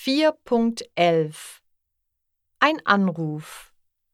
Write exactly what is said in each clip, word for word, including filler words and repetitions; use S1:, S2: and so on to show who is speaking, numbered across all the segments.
S1: vier Punkt elf Ein Anruf.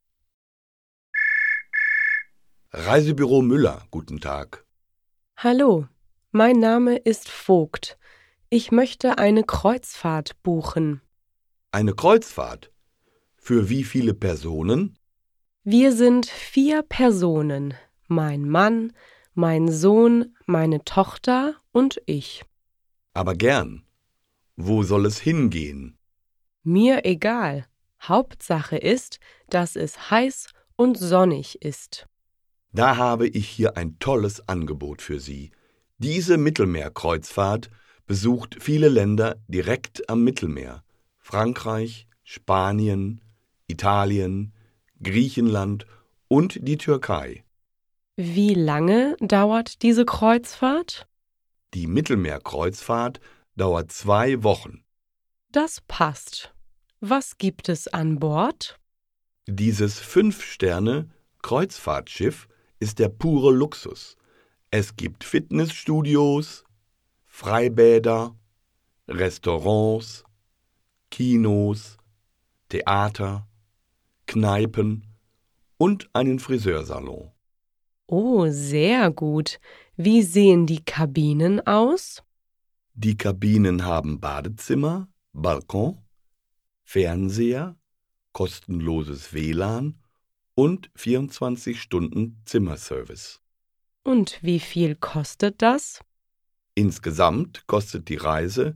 S2: Reisebüro Müller, guten Tag.
S3: Hallo, mein Name ist Vogt. Ich möchte eine Kreuzfahrt buchen.
S2: Eine Kreuzfahrt? Für wie viele Personen?
S3: Wir sind vier Personen. Mein Mann, mein Sohn, meine Tochter und ich.
S2: Aber gern. Wo soll es hingehen?
S3: Mir egal. Hauptsache ist, dass es heiß und sonnig ist.
S2: Da habe ich hier ein tolles Angebot für Sie. Diese Mittelmeerkreuzfahrt besucht viele Länder direkt am Mittelmeer. Frankreich, Spanien, Italien, Griechenland und die Türkei.
S3: Wie lange dauert diese Kreuzfahrt?
S2: Die Mittelmeerkreuzfahrt dauert zwei Wochen.
S3: Das passt. Was gibt es an Bord?
S2: Dieses Fünf-Sterne-Kreuzfahrtschiff ist der pure Luxus. Es gibt Fitnessstudios, Freibäder, Restaurants, Kinos, Theater, Kneipen und einen Friseursalon.
S3: Oh, sehr gut. Wie sehen die Kabinen aus?
S2: Die Kabinen haben Badezimmer, Balkon, Fernseher, kostenloses W L A N und vierundzwanzig Stunden Zimmerservice.
S3: Und wie viel kostet das?
S2: Insgesamt kostet die Reise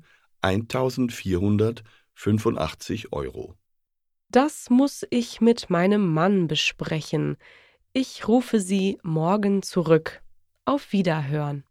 S2: eintausendvierhundertfünfundachtzig Euro.
S3: Das muss ich mit meinem Mann besprechen. Ich rufe Sie morgen zurück. Auf Wiederhören.